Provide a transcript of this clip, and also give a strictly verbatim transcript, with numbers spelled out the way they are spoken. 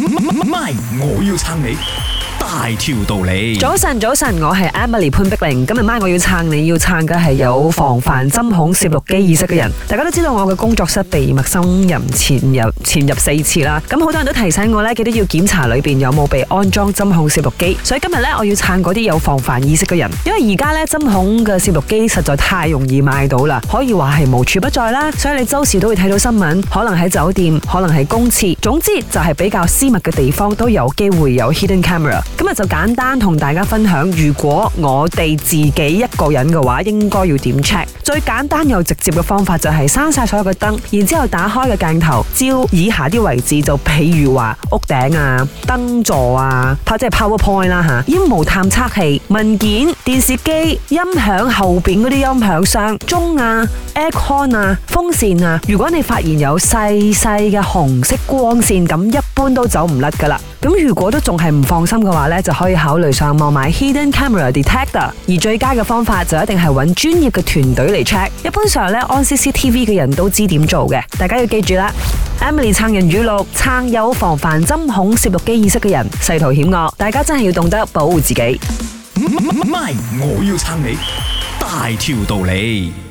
MY， 我要撐你大條道理。 早晨，早晨，我係 Emily 潘碧玲。今日MY我要撐你，要撐嘅係有防範針孔攝錄機意識嘅人。大家都知道我嘅工作室被陌生人潛入潛入四次啦。咁好多人都提醒我咧，記得要檢查裏邊有冇被安裝針孔攝錄機。所以今日咧，我要撐嗰啲有防範意識嘅人。因為而家咧針孔嘅攝錄機實在太容易買到啦，可以話係無處不在啦。所以你周時都會睇到新聞，可能喺酒店，可能係公廁，總之就係比較私密嘅地方都有機會有 hidden camera。今日就簡單同大家分享，如果我哋自己一個人嘅話，應該要點 check？ 最簡單又直接嘅方法就係閂晒所有嘅燈，然之後打開嘅鏡頭照以下啲位置，就譬如話屋頂啊、燈座啊，即係 PowerPoint 啦吓，煙霧探測器、文件、電視機、音響後邊嗰啲音響箱、鐘啊、aircon 啊、風扇啊，如果你發現有細細嘅紅色光線，咁一般都走唔甩噶啦。咁如果都仲係唔放心嘅話呢，就可以考慮上網買 Hidden Camera Detector。而最佳嘅方法就一定係揾專業嘅團隊嚟 check。一般上呢，安 C C T V 嘅人都知點做嘅，大家要記住啦。Emily 撐人語錄，撐有防範針孔攝錄機意識嘅人，世途險惡，大家真係要懂得保護自己。 MY， 我要撐你大條道理。